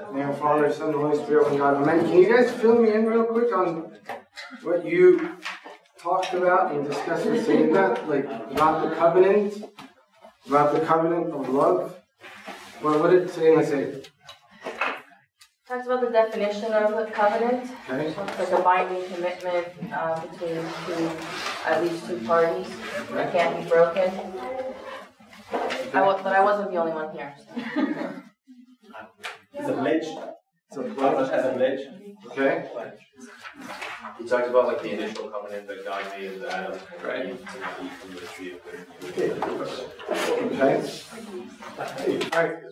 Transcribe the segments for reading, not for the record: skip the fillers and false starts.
name of Father, Son, and Holy Spirit, one God. Amen. Can you guys fill me in real quick on what you talked about and discussed with Sayyidah, like about the covenant of love? What did Sayyidah say? Talks about the definition of a covenant. Okay. It's like a binding commitment between at least two parties that can't be broken. But I wasn't the only one here. It's a pledge. It's a pledge. As a pledge. Okay. He talks about like the initial covenant that God made with Adam, Right. To eat from the tree of good. Okay. All right.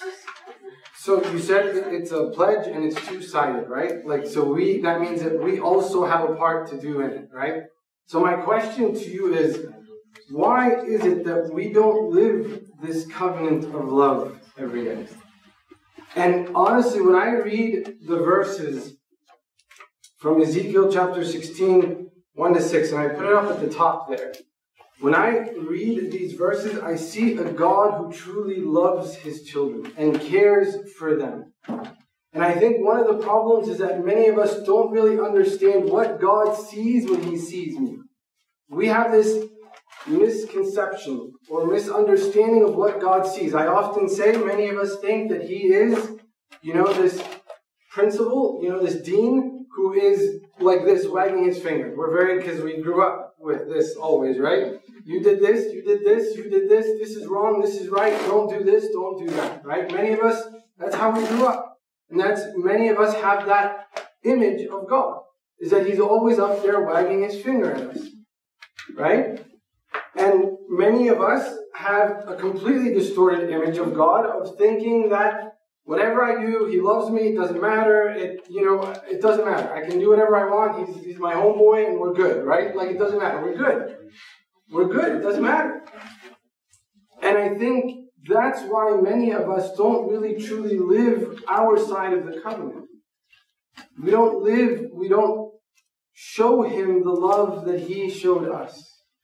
So you said it's a pledge and it's two-sided, right? Like, so that means that we also have a part to do in it, right? So my question to you is, why is it that we don't live this covenant of love every day? And honestly, when I read the verses from Ezekiel chapter 16, 1-6, and I put it up at the top there, when I read these verses, I see a God who truly loves his children and cares for them. And I think one of the problems is that many of us don't really understand what God sees when he sees me. We have this misconception or misunderstanding of what God sees. I often say many of us think that he is, this principal, this dean who is like this, wagging his finger. Because we grew up with this always, right? You did this, you did this, you did this, this is wrong, this is right, don't do this, don't do that, right? Many of us, that's how we grew up. And many of us have that image of God, is that he's always up there wagging his finger at us, right? And many of us have a completely distorted image of God, of thinking that whatever I do, he loves me, it doesn't matter, it doesn't matter. I can do whatever I want, he's my homeboy, and we're good, right? Like, it doesn't matter, we're good. We're good, it doesn't matter. And I think that's why many of us don't really truly live our side of the covenant. We don't show him the love that he showed us.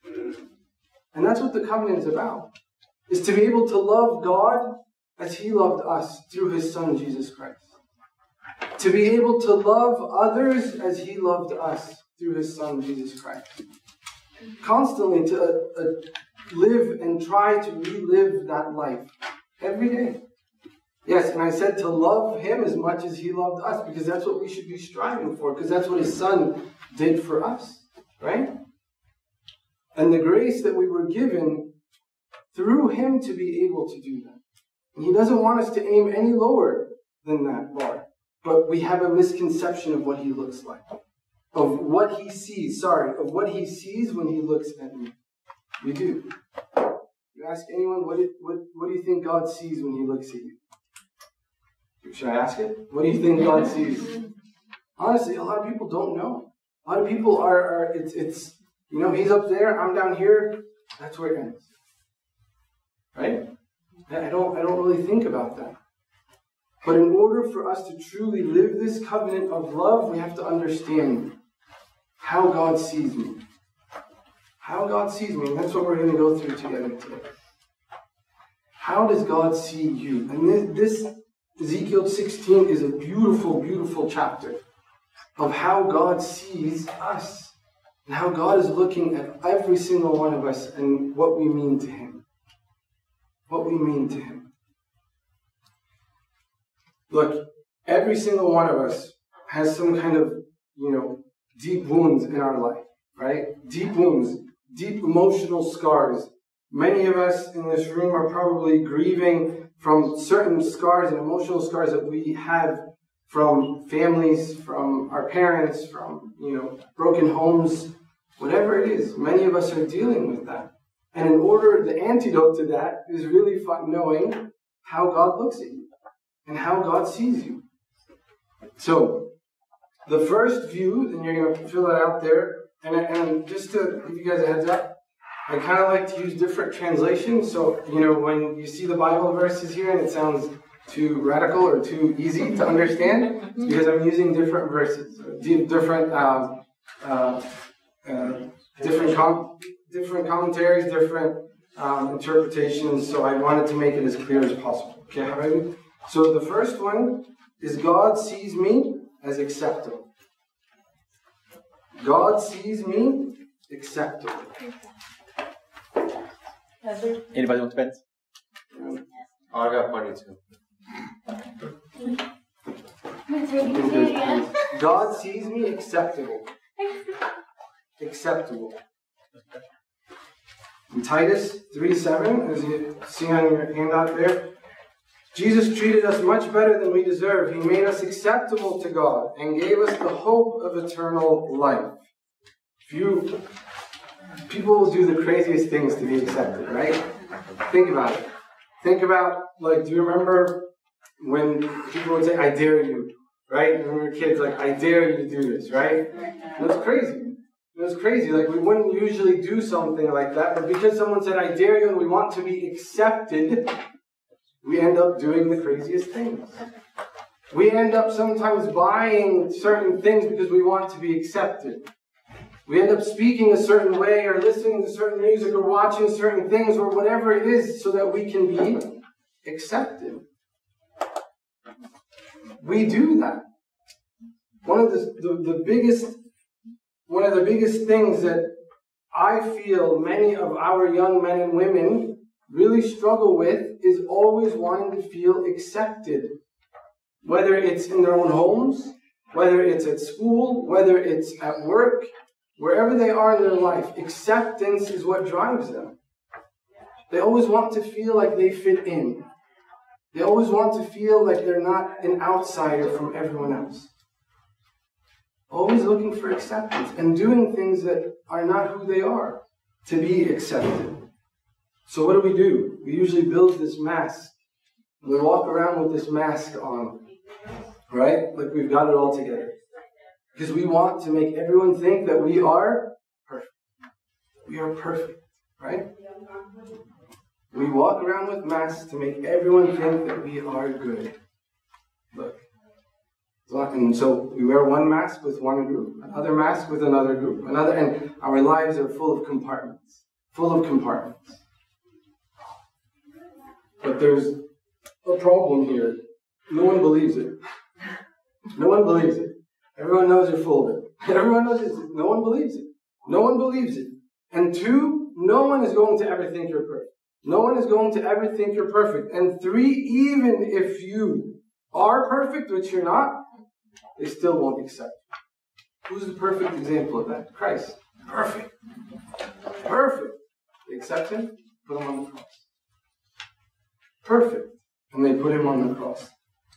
And that's what the covenant is about. Is to be able to love God as he loved us through his Son, Jesus Christ. To be able to love others as he loved us through his Son, Jesus Christ. Constantly to live and try to relive that life every day. Yes, and I said to love him as much as he loved us, because that's what we should be striving for, because that's what his Son did for us, right? And the grace that we were given through him to be able to do that. And he doesn't want us to aim any lower than that bar. But we have a misconception of what he looks like. Of what he sees when he looks at me. We do. You ask anyone, what do you think God sees when he looks at you? Should I ask it? What do you think God sees? Honestly, a lot of people don't know. A lot of people it's he's up there, I'm down here, that's where it ends. Right? I don't really think about that. But in order for us to truly live this covenant of love, we have to understand how God sees me. How God sees me. And that's what we're going to go through together today. How does God see you? And this Ezekiel 16 is a beautiful, beautiful chapter of how God sees us. And how God is looking at every single one of us and what we mean to him. What we mean to him. Look, every single one of us has some kind of, deep wounds in our life, right? Deep wounds, deep emotional scars. Many of us in this room are probably grieving from certain scars and emotional scars that we have from families, from our parents, from, broken homes, whatever it is. Many of us are dealing with that. And the antidote to that is really knowing how God looks at you and how God sees you. So, the first view, and you're going to fill it out there, and just to give you guys a heads up, I kind of like to use different translations. So, when you see the Bible verses here and it sounds too radical or too easy to understand, it's because I'm using different verses, different commentaries, different interpretations, so I wanted to make it as clear as possible. Okay, Habibi? So the first one is God sees me as acceptable. God sees me acceptable. Anybody want to bet? I got funny too. God sees me acceptable. Acceptable. In Titus 3:7, as you see on your handout there, Jesus treated us much better than we deserve. He made us acceptable to God and gave us the hope of eternal life. People will do the craziest things to be accepted, right? Think about it. Think about, do you remember when people would say, I dare you, right? When we were kids, I dare you to do this, right? And it's crazy. It was crazy. We wouldn't usually do something like that, but because someone said, I dare you, and we want to be accepted, we end up doing the craziest things. We end up sometimes buying certain things because we want to be accepted. We end up speaking a certain way or listening to certain music or watching certain things or whatever it is so that we can be accepted. We do that. One of the biggest things that I feel many of our young men and women really struggle with is always wanting to feel accepted. Whether it's in their own homes, whether it's at school, whether it's at work, wherever they are in their life, acceptance is what drives them. They always want to feel like they fit in. They always want to feel like they're not an outsider from everyone else. Always looking for acceptance and doing things that are not who they are to be accepted. So what do? We usually build this mask. We walk around with this mask on, right? Like we've got it all together. Because we want to make everyone think that we are perfect. We are perfect, right? We walk around with masks to make everyone think that we are good. Look. And so we wear one mask with one group, another mask with another group, and our lives are full of compartments. Full of compartments. But there's a problem here. No one believes it. No one believes it. Everyone knows you're full of it. Everyone knows it. No one believes it. No one believes it. And two, no one is going to ever think you're perfect. No one is going to ever think you're perfect. And three, even if you are perfect, which you're not, they still won't accept you. Who's the perfect example of that? Christ. Perfect. Perfect. They accept him, put him on the cross. Perfect. And they put him on the cross.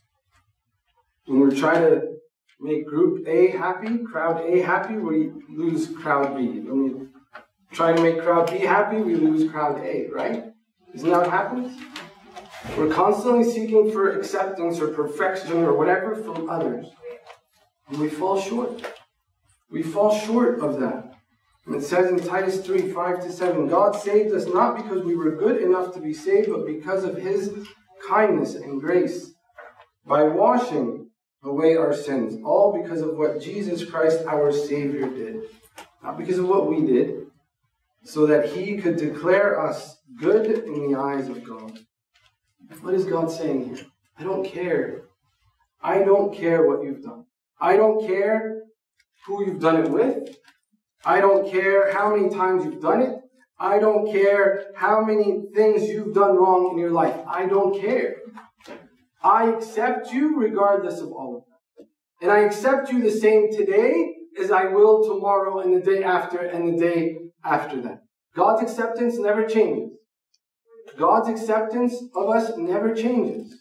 When we're trying to make group A happy, crowd A happy, we lose crowd B. When we try to make crowd B happy, we lose crowd A, right? Isn't that what happens? We're constantly seeking for acceptance or perfection or whatever from others. And we fall short. We fall short of that. And it says in Titus 3:5-7, God saved us not because we were good enough to be saved, but because of his kindness and grace, by washing away our sins, all because of what Jesus Christ our Savior did. Not because of what we did, so that he could declare us good in the eyes of God. What is God saying here? I don't care. I don't care what you've done. I don't care who you've done it with. I don't care how many times you've done it. I don't care how many things you've done wrong in your life. I don't care. I accept you regardless of all of that. And I accept you the same today as I will tomorrow and the day after and the day after that. God's acceptance never changes. God's acceptance of us never changes.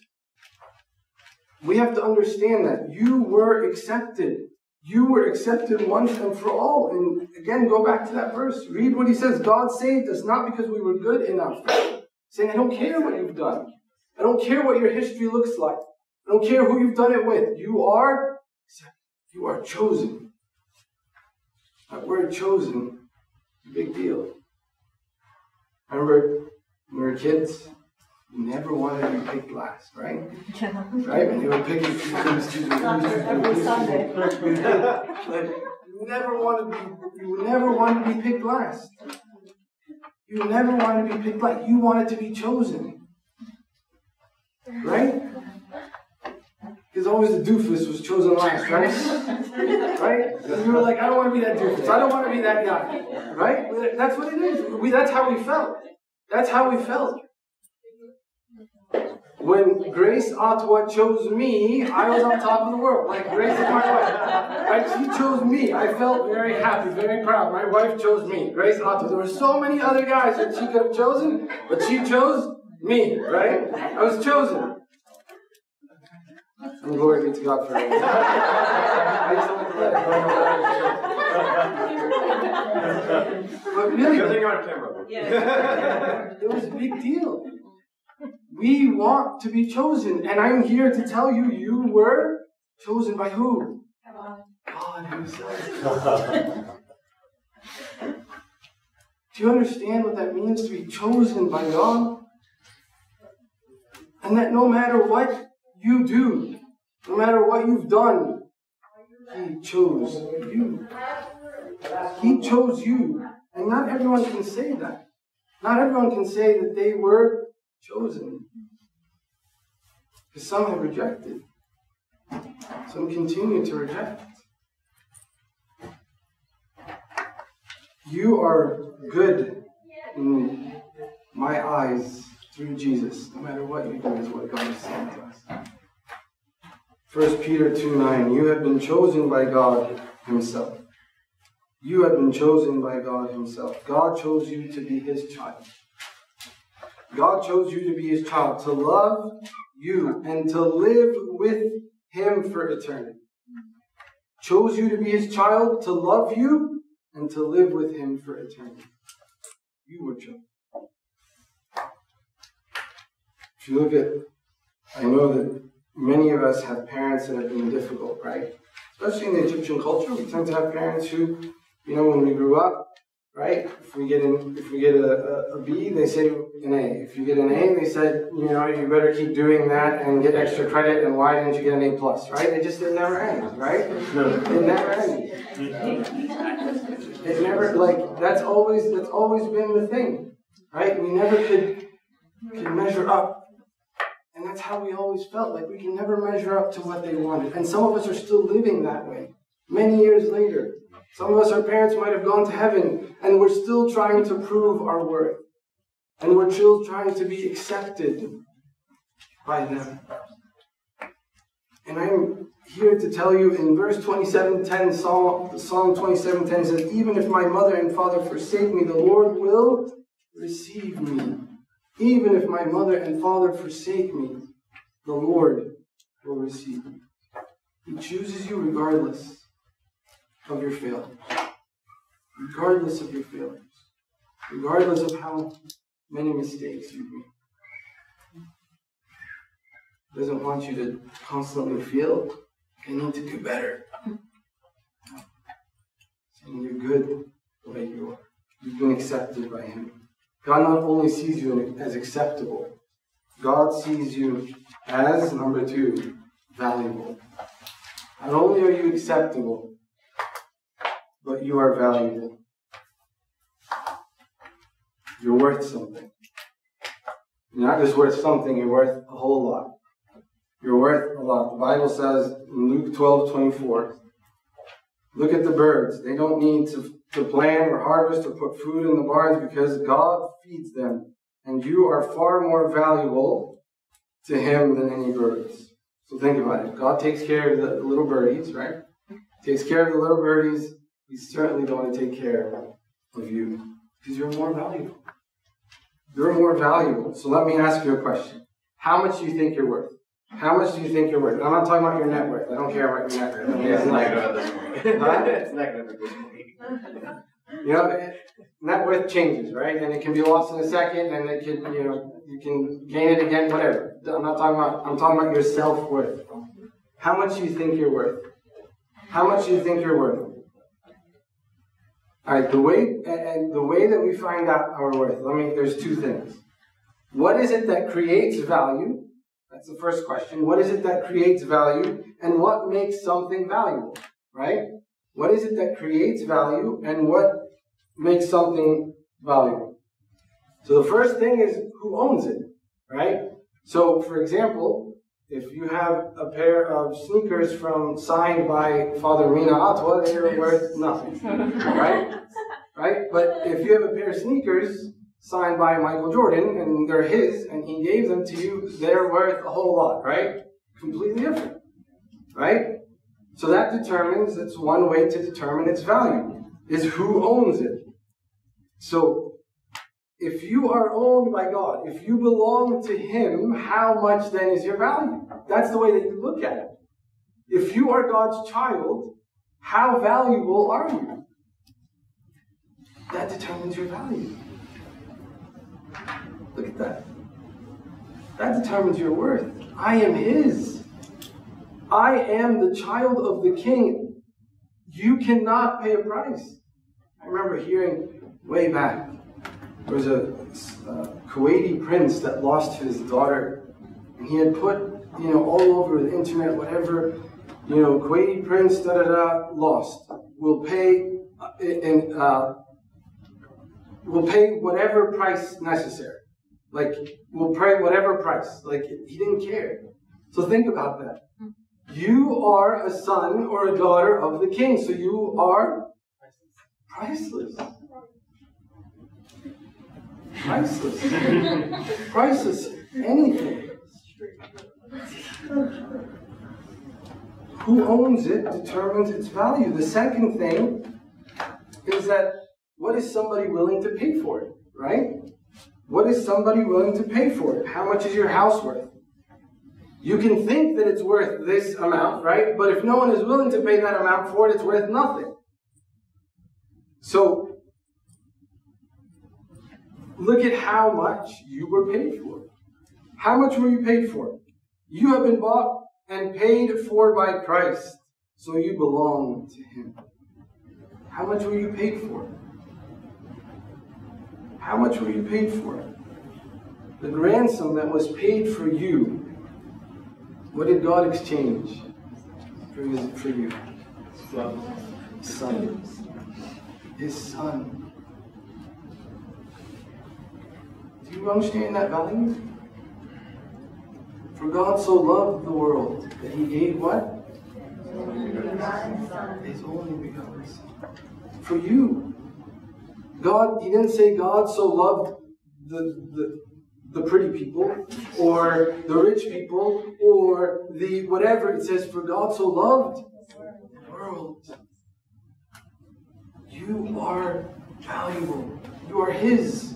We have to understand that you were accepted. You were accepted once and for all. And again, go back to that verse. Read what he says. God saved us not because we were good enough. Saying, I don't care what you've done. I don't care what your history looks like. I don't care who you've done it with. You are accepted. You are chosen. That word chosen is a big deal. Remember, when we were kids, we never wanted to be picked last, right? Right? When you were picking every Sunday. You never wanted to be picked last. You never wanted to be picked last. You wanted to be chosen. Right? always the doofus was chosen last, right? Right? And you were like, I don't want to be that doofus. I don't want to be that guy. Right? That's what it is. That's how we felt. That's how we felt. When Grace Ottawa chose me, I was on top of the world. Like, Grace is my wife. Right? She chose me. I felt very happy, very proud. My wife chose me. Grace Ottawa. There were so many other guys that she could have chosen, but she chose me, right? I was chosen. And glory be to God for it. But really, it was a big deal. We want to be chosen, and I'm here to tell you, you were chosen by who? God Himself. Do you understand what that means to be chosen by God? And that no matter what you do, no matter what you've done, He chose you. He chose you. And not everyone can say that. Not everyone can say that they were chosen. Because some have rejected. Some continue to reject. You are good in my eyes through Jesus, no matter what you do, is what God is saying to us. 1 Peter 2:9, you have been chosen by God Himself. You have been chosen by God Himself. God chose you to be His child. God chose you to be His child, to love you and to live with Him for eternity. Chose you to be His child, to love you and to live with Him for eternity. You were chosen. If you look at, I know that many of us have parents that have been difficult, right? Especially in the Egyptian culture, we tend to have parents who, when we grew up, right? If we get a B, they say an A. If you get an A, they said, you better keep doing that and get extra credit. And why didn't you get an A+, right? It never ends, right? It never ends. It never, that's always been the thing, right? We never could measure up. And that's how we always felt, like we can never measure up to what they wanted. And some of us are still living that way, many years later. Some of us, our parents might have gone to heaven, and we're still trying to prove our worth. And we're still trying to be accepted by them. And I'm here to tell you in verse 27:10, Psalm 27:10 says, even if my mother and father forsake me, the Lord will receive me. Even if my mother and father forsake me, the Lord will receive me. He chooses you regardless of your failures. Regardless of your failures. Regardless of how many mistakes you've made. He doesn't want you to constantly feel, I need to do better. Saying you're good the way you are. You've been accepted by Him. God not only sees you as acceptable, God sees you as, number 2, valuable. Not only are you acceptable, but you are valuable. You're worth something. You're not just worth something, you're worth a whole lot. You're worth a lot. The Bible says in Luke 12:24, look at the birds. They don't need to plant or harvest or put food in the barns because God feeds them. And you are far more valuable to Him than any birds. So think about it. God takes care of the little birdies, right? Takes care of the little birdies. He's certainly going to take care of you because you're more valuable. You're more valuable. So let me ask you a question. How much do you think you're worth? How much do you think you're worth? I'm not talking about your net worth. I don't care about your net worth. It's negative at this point. It's negative at this point. Net worth changes, right? And it can be lost in a second, and it can, you can gain it again, whatever. I'm talking about your self-worth. How much do you think you're worth? How much do you think you're worth? All right, the way that we find out our worth, there's 2 things. What is it that creates value? That's the first question. What is it that creates value? And what makes something valuable, right? What is it that creates value and what makes something valuable? So the first thing is who owns it, right? So, for example, if you have a pair of sneakers signed by Father Mina Atwa, they are worth nothing, right? Right? But if you have a pair of sneakers signed by Michael Jordan, and they're his, and he gave them to you, they're worth a whole lot, right? Completely different, right? So that that's one way to determine its value, is who owns it. So, if you are owned by God, if you belong to Him, how much then is your value? That's the way that you look at it. If you are God's child, how valuable are you? That determines your value. Look at that. That determines your worth. I am His. I am the child of the King. You cannot pay a price. I remember hearing way back, there was a Kuwaiti prince that lost his daughter, and he had put, all over the internet, whatever, Kuwaiti prince, lost. We'll pay whatever price necessary. Like, we'll pay whatever price. Like, he didn't care. So think about that. You are a son or a daughter of the King, so you are priceless. Priceless. Priceless. Anything. Who owns it determines its value. The second thing is that what is somebody willing to pay for it, right? What is somebody willing to pay for it? How much is your house worth? You can think that it's worth this amount, right? But if no one is willing to pay that amount for it, it's worth nothing. So, look at how much you were paid for. How much were you paid for? You have been bought and paid for by Christ, so you belong to Him. How much were you paid for? How much were you paid for? The ransom that was paid for you, what did God exchange for you? Son. His Son. Do you understand that value? For God so loved the world that He gave what? His only begotten Son. For you. God, He didn't say God so loved the pretty people, or the rich people, or the whatever. It says, for God so loved the world. You are valuable. You are His.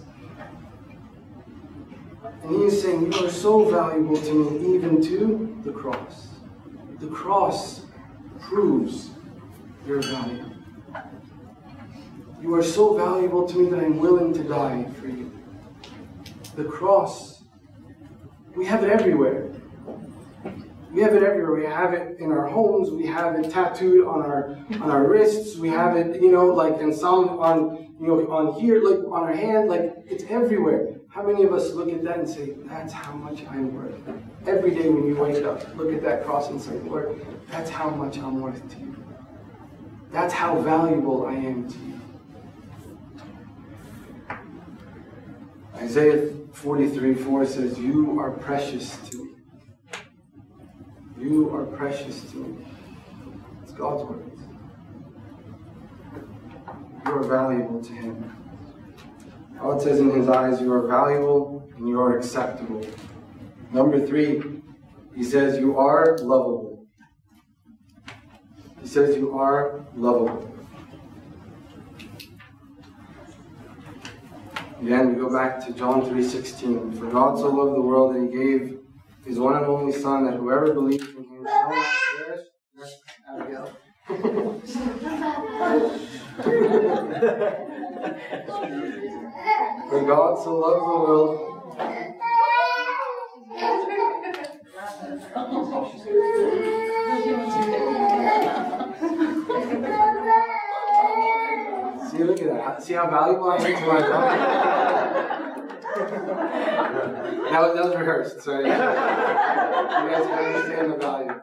And He is saying, you are so valuable to me, even to the cross. The cross proves your value. You are so valuable to me that I'm willing to die for you. The cross, we have it everywhere. We have it everywhere. We have it in our homes. We have it tattooed on our wrists. We have it, like in some on here, like on our hand. Like, it's everywhere. How many of us look at that and say, that's how much I'm worth? Every day when you wake up, look at that cross and say, Lord, that's how much I'm worth to you. That's how valuable I am to you. Isaiah 43:4 says, you are precious to me. You are precious to me. It's God's words. You are valuable to Him. God says in His eyes, you are valuable and you are acceptable. Number 3, He says you are lovable. He says you are lovable. Again, we go back to John 3:16. For God so loved the world that He gave His one and only Son, that whoever believes in Him shall not perish. That's Abigail. For God so loved the world. See, look at that. See how valuable I am to my God? That was rehearsed, so you guys can understand the value.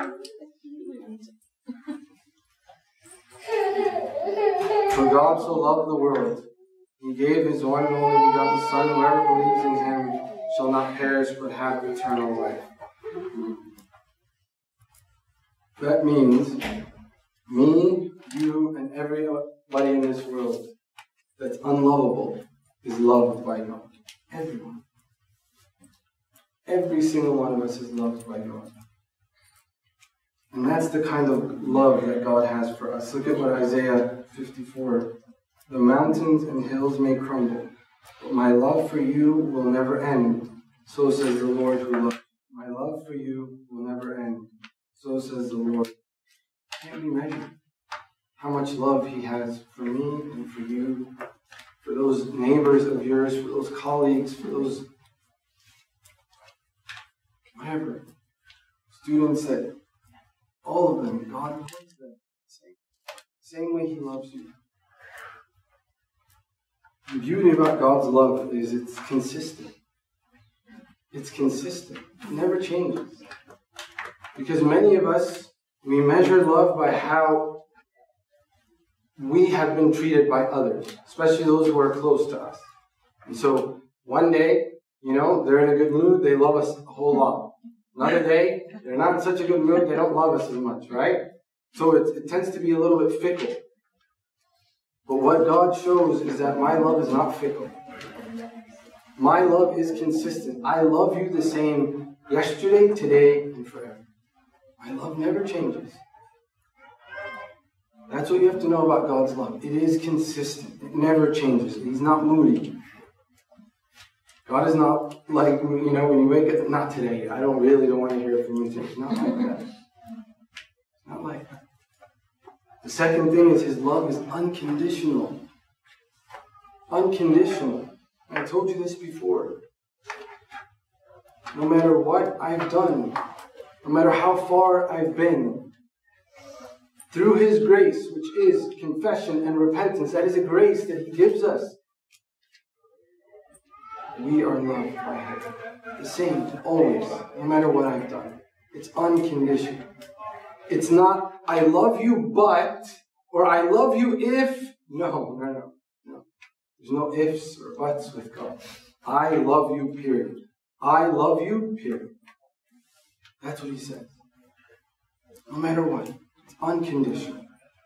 For God so loved the world, He gave His one and only begotten Son. Whoever believes in Him shall not perish but have eternal life. That means me, you, and everybody in this world that's unlovable is loved by God. Everyone. Every single one of us is loved by God. And that's the kind of love that God has for us. Look at what Isaiah 54. The mountains and hills may crumble, but my love for you will never end. So says the Lord who loves you. My love for you will never end. So says the Lord. Can't be measured how much love He has for me and for you, for those neighbors of yours, for those colleagues, for those whatever students, that all of them, God loves them same way He loves you. The beauty about God's love is it's consistent. It's consistent. It never changes. Because many of us, we measure love by how we have been treated by others, especially those who are close to us. And so one day, they're in a good mood, they love us a whole lot. Another day, they're not in such a good mood, they don't love us as much, right? So it tends to be a little bit fickle. But what God shows is that my love is not fickle. My love is consistent. I love you the same yesterday, today, and forever. My love never changes. That's what you have to know about God's love. It is consistent. It never changes. He's not moody. God is not like, when you wake up, not today. I really don't want to hear from you today. Not like that. Not like that. The second thing is His love is unconditional. Unconditional. I told you this before. No matter what I've done, no matter how far I've been, through His grace, which is confession and repentance, that is a grace that He gives us, we are loved by Him. The same, always, no matter what I've done. It's unconditional. It's not, I love you, but, or I love you if. No. There's no ifs or buts with God. I love you, period. I love you, period. That's what He says. No matter what. It's unconditional.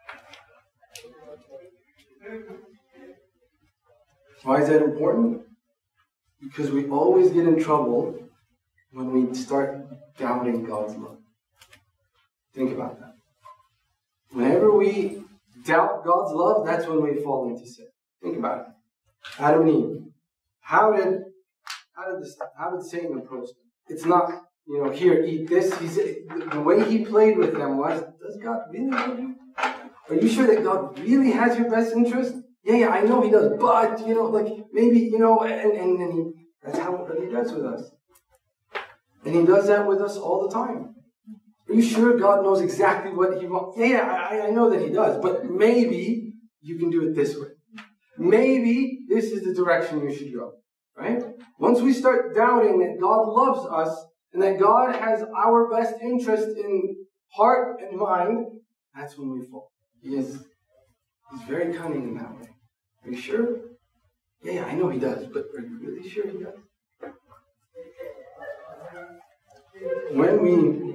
Why is that important? Because we always get in trouble when we start doubting God's love. Think about that. Whenever we doubt God's love, that's when we fall into sin. Think about it. Adam and Eve. How did Satan approach them? It's not, here, eat this. The way he played with them was, does God really love you? Are you sure that God really has your best interest? Yeah, I know He does, but, maybe, and that's what He does with us. And He does that with us all the time. Are you sure God knows exactly what He wants? Yeah, I know that He does, but maybe you can do it this way. Maybe this is the direction you should go, right? Once we start doubting that God loves us and that God has our best interest in heart and mind, that's when we fall. He's very cunning in that way. Are you sure? Yeah, I know He does, but are you really sure He does? When we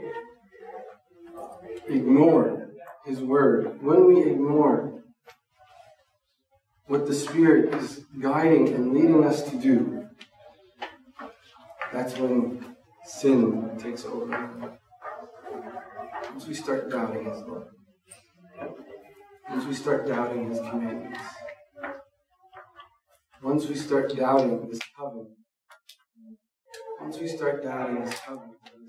ignore His word, when we ignore what the Spirit is guiding and leading us to do, that's when sin takes over. Once we start doubting His love, once we start doubting His commandments, once we start doubting His covenant, once we start doubting His covenant,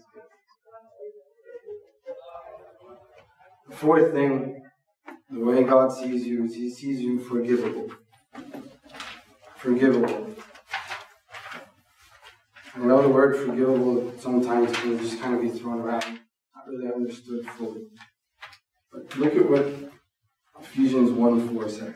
the fourth thing, the way God sees you is He sees you forgivable. Forgivable. I know the word forgivable sometimes can just kind of be thrown around, not really understood fully. But look at what Ephesians 1:4 says.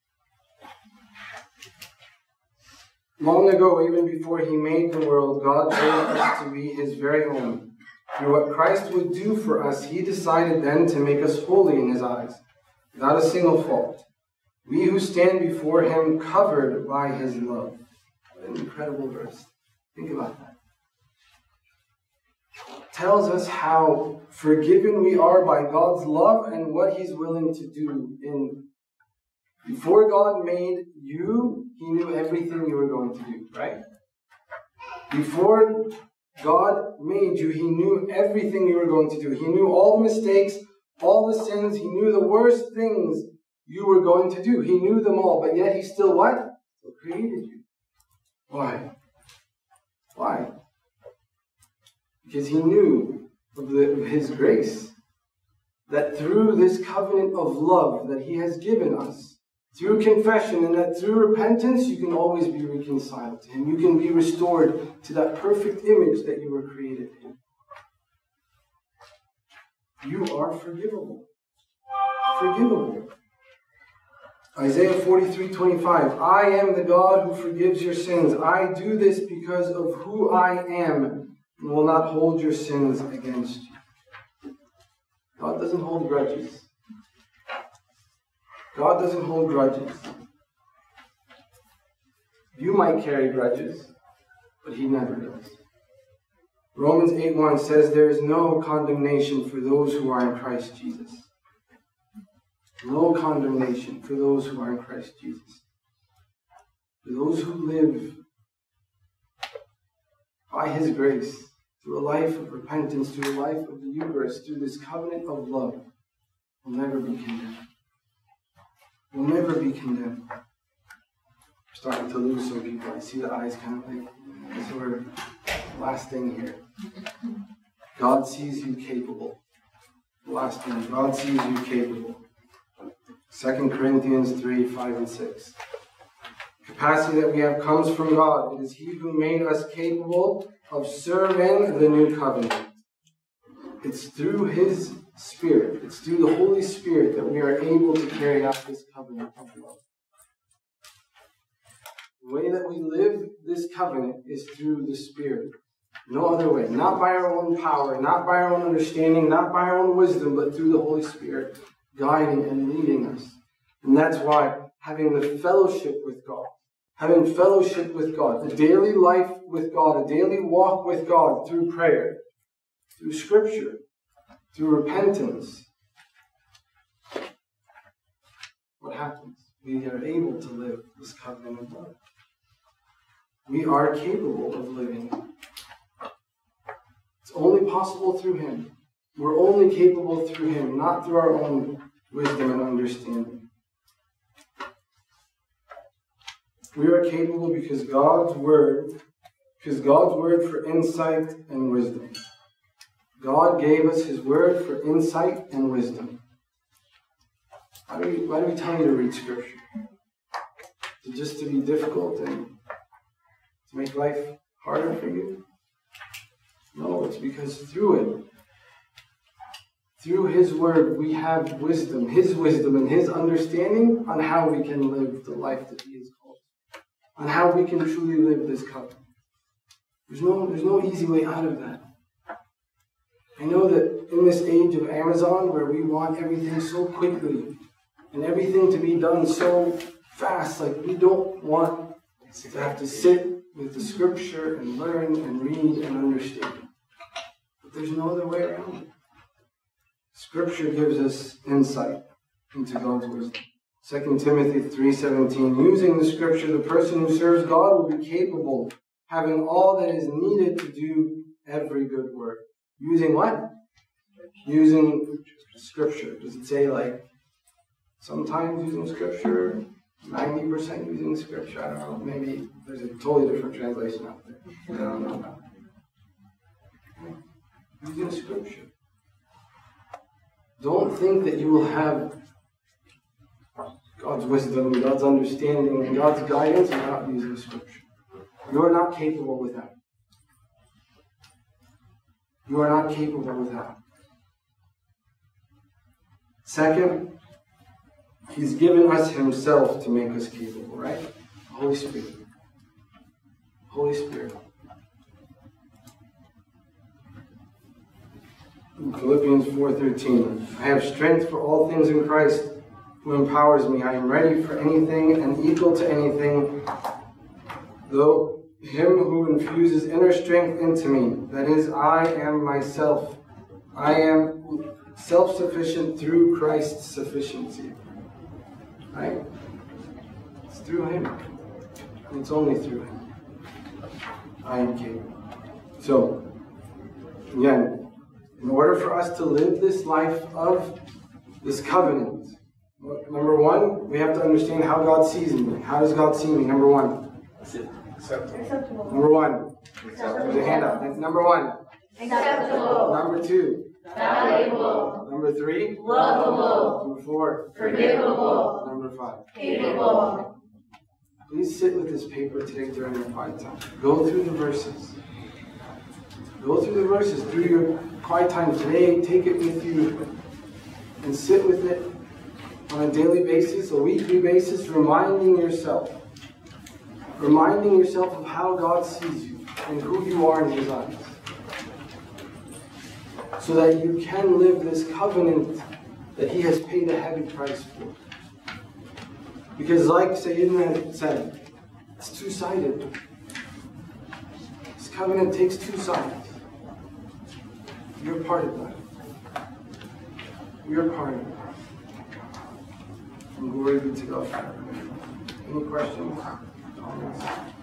Long ago, even before He made the world, God chose us to be His very own. Through what Christ would do for us, He decided then to make us holy in His eyes, without a single fault. We who stand before Him covered by His love. What an incredible verse. Think about that. tells us how forgiven we are by God's love and what He's willing to do. Before God made you, He knew everything you were going to do, right? Before God made you, He knew everything you were going to do. He knew all the mistakes, all the sins. He knew the worst things you were going to do. He knew them all, but yet He still what? Still created you. Why? Why? Because He knew of His grace, that through this covenant of love that He has given us, through confession, and that through repentance, you can always be reconciled to Him. You can be restored to that perfect image that you were created in. You are forgivable. Forgivable. Isaiah 43:25. I am the God who forgives your sins. I do this because of who I am, and will not hold your sins against you. God doesn't hold grudges. God doesn't hold grudges. You might carry grudges, but He never does. Romans 8:1 says there is no condemnation for those who are in Christ Jesus. No condemnation for those who are in Christ Jesus. For those who live by His grace, through a life of repentance, through a life of the Eucharist, through this covenant of love, will never be condemned. Will never be condemned. We're starting to lose some people. I see the eyes kind of like, so we're last thing here. God sees you capable. Last thing, God sees you capable. 2 Corinthians 3:5 and 6. The capacity that we have comes from God. It is He who made us capable of serving the new covenant. It's through His Spirit, it's through the Holy Spirit that we are able to carry out this covenant of love. The way that we live this covenant is through the Spirit. No other way. Not by our own power, not by our own understanding, not by our own wisdom, but through the Holy Spirit guiding and leading us. And that's why having the fellowship with God, having fellowship with God, a daily life with God, a daily walk with God through prayer, through Scripture, through repentance, what happens? We are able to live this covenant of love. We are capable of living. It's only possible through Him. We're only capable through Him, not through our own wisdom and understanding. We are capable because God's Word for insight and wisdom. God gave us His Word for insight and wisdom. Why do we tell you to read Scripture? Is it just to be difficult and to make life harder for you? No, it's because through His Word, we have wisdom and His understanding on how we can live the life that He has called, on how we can truly live this covenant. There's no easy way out of that. I know that in this age of Amazon, where we want everything so quickly and everything to be done so fast, like we don't want to have to sit with the Scripture and learn and read and understand. But there's no other way around it. Scripture gives us insight into God's wisdom. 2 Timothy 3:17, using the Scripture, the person who serves God will be capable, having all that is needed to do every good work. Using what? Using Scripture. Does it say like sometimes using Scripture, 90% using Scripture? I don't know. Maybe there's a totally different translation out there. I don't know. Using Scripture. Don't think that you will have God's wisdom, God's understanding, and God's guidance without using Scripture. You are not capable without. You are not capable without. Second, He's given us Himself to make us capable, right? The Holy Spirit. Holy Spirit. In Philippians 4:13, I have strength for all things in Christ who empowers me. I am ready for anything and equal to anything, though Him who infuses inner strength into me. That is, I am myself. I am self-sufficient through Christ's sufficiency. Right? It's through Him. And it's only through Him. I am capable. So, again, in order for us to live this life of this covenant, number one, we have to understand how God sees me. How does God see me? Number one. Acceptable. Number one. There's a hand up. Number one. Acceptable. Number two. Valuable. Number three. Lovable. Number four. Forgivable. Number five. Capable. Please sit with this paper today during your quiet time. Go through the verses. Go through the verses through your quiet time today. Take it with you and sit with it on a daily basis, a weekly basis, reminding yourself of how God sees you and who you are in His eyes, so that you can live this covenant that He has paid a heavy price for. Because like Sayyidina said, it's two-sided. This covenant takes two sides. You're part of that. You're part of it. And glory be to God. Any questions? Comments?